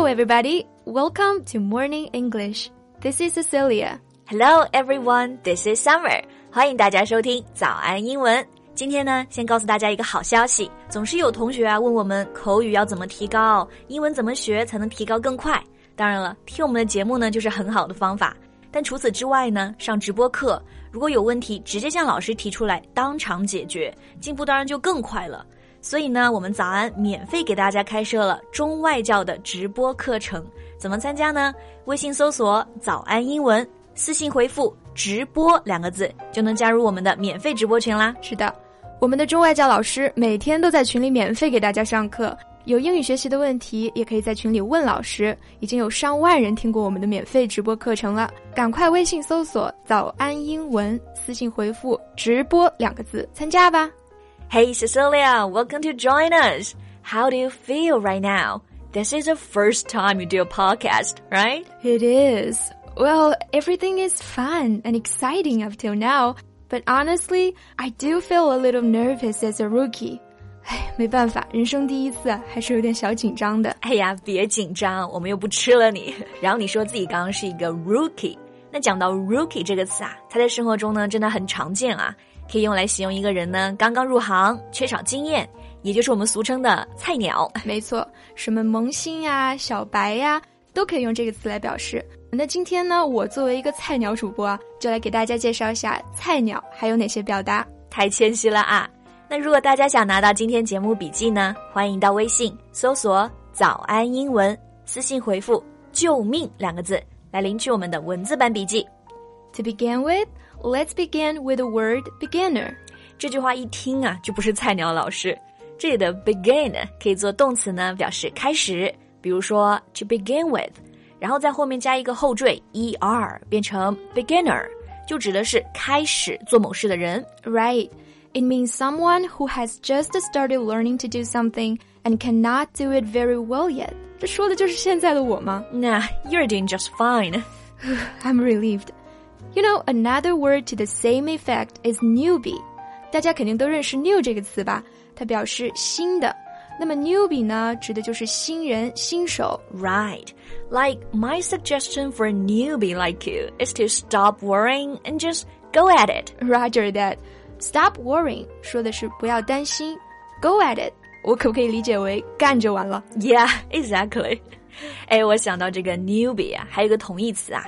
everybody. Welcome to Morning English. This is Cecilia. Hello everyone, this is Summer. 欢迎大家收听早安英文。今天呢，先告诉大家一个好消息。总是有同学问我们口语要怎么提高，英文怎么学才能提高更快。当然了，听我们的节目呢，就是很好的方法。但除此之外呢，上直播课，如果有问题，直接向老师提出来，当场解决，进步当然就更快了。所以呢，我们早安免费给大家开设了中外教的直播课程。怎么参加呢？微信搜索早安英文，私信回复直播2个字，就能加入我们的免费直播群啦。 是的，我们的中外教老师每天都在群里免费给大家上课，有英语学习的问题也可以在群里问老师，已经有上万人听过我们的免费直播课程了。赶快微信搜索早安英文，私信回复直播2个字，参加吧。 Hey Cecilia, welcome to join us. How do you feel right now? This is the first time you do a podcast, right? It is. Well, everything is fun and exciting up till now, but honestly, I do feel a little nervous as a rookie. 没办法，人生第一次还是有点小紧张的。 哎呀，别紧张，我们又不吃了你。然后你说自己刚刚是一个 rookie， 那讲到 rookie 这个词啊，它在生活中呢真的很常见啊。可以用来形容一个人呢刚刚入行，缺少经验，也就是我们俗称的菜鸟。 没错，什么萌新呀、小白呀，都可以用这个词来表示。那今天呢，我作为一个菜鸟主播啊，就来给大家介绍一下菜鸟还有哪些表达。 太谦虚了啊！那如果大家想拿到今天节目笔记呢，欢迎到微信搜索早安英文，私信回复救命2个字来领取我们的文字版笔记。 To begin with, let's begin with the word beginner. 这句话一听啊，就不是菜鸟老师。这里的 begin 可以做动词呢，表示开始，比如说 to begin with， 然后在后面加一个后缀 er， 变成 beginner， 就指的是开始做某事的人。 Right. It means someone who has just started learning to do something and cannot do it very well yet. 这说的就是现在的我吗？ Nah, you're doing just fine. I'm relieved.You know, another word to the same effect is newbie. 大家肯定都认识 new 这个词吧？它表示新的。那么 newbie 呢，指的就是新人、新手。 Right. Like, my suggestion for a newbie like you is to stop worrying and just go at it. Roger that. Stop worrying 说的是不要担心。Go at it 我可不可以理解为干就完了？ Yeah, exactly. 哎，我想到这个 newbie 啊，还有一个同义词啊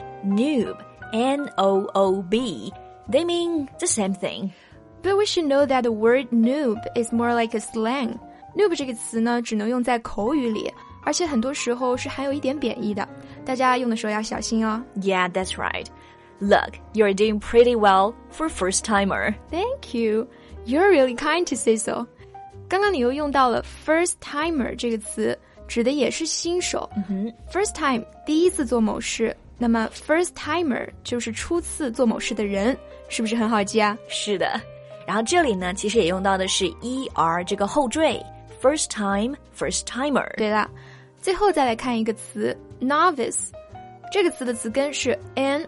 noob.N-O-O-B. They mean the same thing. But we should know that the word noob is more like a slang. Noob 这个词呢，只能用在口语里，而且很多时候是含有一点贬义的。大家用的时候要小心哦。 Yeah, that's right. Look, you're doing pretty well for a first-timer. Thank you. You're really kind to say so. 刚刚你又用到了 first-timer 这个词，指的也是新手。First time 第一次做某事。那么 first timer 就是初次做某事的人，是不是很好记啊？ 是的。然后这里呢，其实也用到的是 er 这个后缀 first time, first timer。 对了，最后再来看一个词 novice， 这个词的词根是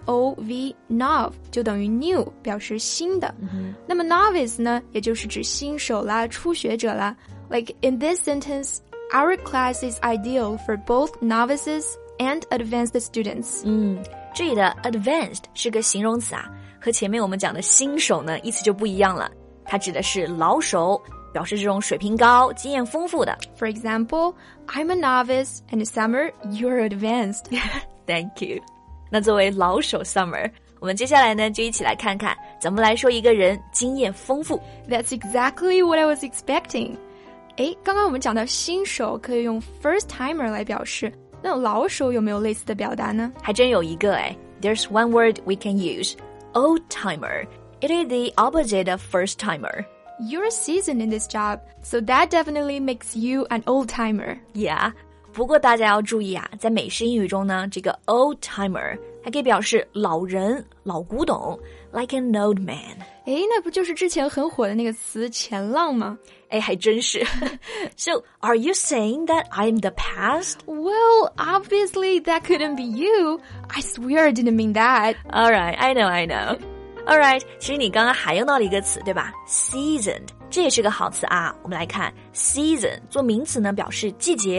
N-O-V nov， 就等于 new， 表示新的。那么 novice 呢，也就是指新手啦、初学者啦。Like in this sentence, our class is ideal for both novices and advanced students. 这里的 advanced 是个形容词啊，和前面我们讲的新手呢意思就不一样了。它指的是老手，表示这种水平高、经验丰富的。 For example, I'm a novice and Summer, you're advanced. Thank you. 那作为老手 Summer， 我们接下来呢就一起来看看怎么来说一个人经验丰富。 That's exactly what I was expecting. 诶，刚刚我们讲到新手可以用 first timer 来表示，那老手有没有类似的表达呢？ 还真有一个诶。There's one word we can use, old timer. It is the opposite of first timer. You're seasoned in this job, so that definitely makes you an old timer. Yeah. 不过大家要注意啊，在美式英语中呢，这个 old timer 还可以表示老人、老古董 ，like an old man。 诶，那不就是之前很火的那个词前浪吗？ 诶，还真是。So, are you saying that I'm the past? Well, obviously that couldn't be you. I swear I didn't mean that. All right, I know. All right, 其实你刚刚还用到了一个词，对吧？ Seasoned， 这也是个好词啊。我们来看 season 做名词呢，表示季节。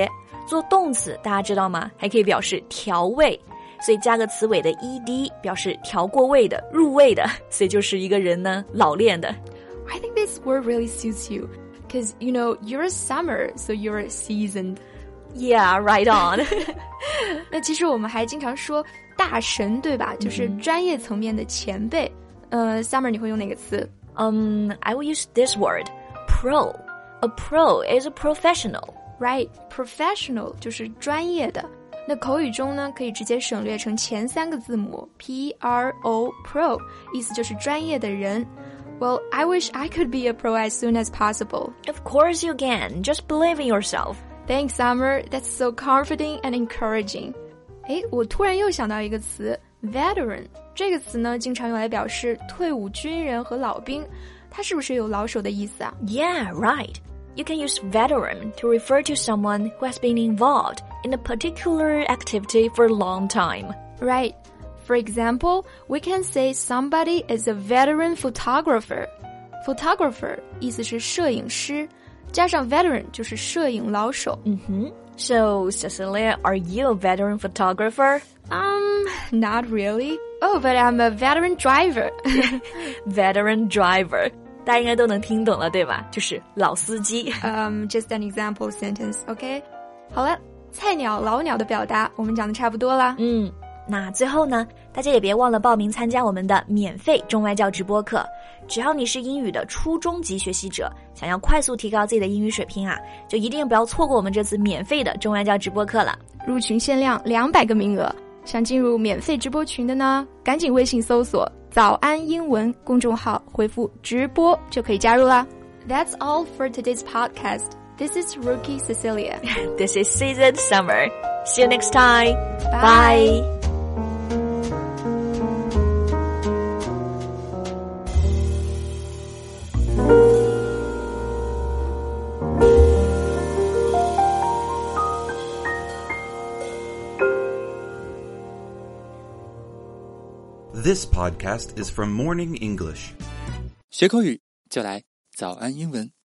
做动词大家知道吗？还可以表示调味，所以加个词尾的 ed 表示调过味的、入味的，所以就是一个人呢老练的。 I think this word really suits you because, you know, you're a summer, so you're seasoned. Yeah, right on. 那其实我们还经常说大神，对吧？就是专业层面的前辈。Summer 你会用哪个词 ？I will use this word, pro. A pro is a professional. Right, professional 就是专业的。那口语中呢，可以直接省略成前3个字母 P-R-O, pro, 意思就是专业的人。Well, I wish I could be a pro as soon as possible. Of course you can. Just believe in yourself. Thanks, Summer. That's so comforting and encouraging. 我突然又想到一个词 veteran. 这个词呢，经常用来表示退伍军人和老兵。它是不是有老手的意思啊？ Yeah, right. You can use veteran to refer to someone who has been involved in a particular activity for a long time. Right. For example, we can say somebody is a veteran photographer. Photographer 意思是摄影师，加上 veteran 就是摄影老手。 So, Cecilia, are you a veteran photographer? Not really. Oh, but I'm a veteran driver. Veteran driver. 大家应该都能听懂了，对吧？就是老司机。 Just an example sentence, okay? 好了，菜鸟、老鸟的表达我们讲的差不多啦。 那最后呢，大家也别忘了报名参加我们的免费中外教直播课。只要你是英语的初中级学习者，想要快速提高自己的英语水平啊，就一定不要错过我们这次免费的中外教直播课了。 入群限量200个名额，想进入免费直播群的呢，赶紧微信搜索早安英文公众号，回复直播就可以加入啦。That's all for today's podcast. This is Rookie Cecilia. This is Seasoned Summer. See you next time. Bye. This podcast is from Morning English. 学口语就来早安英文。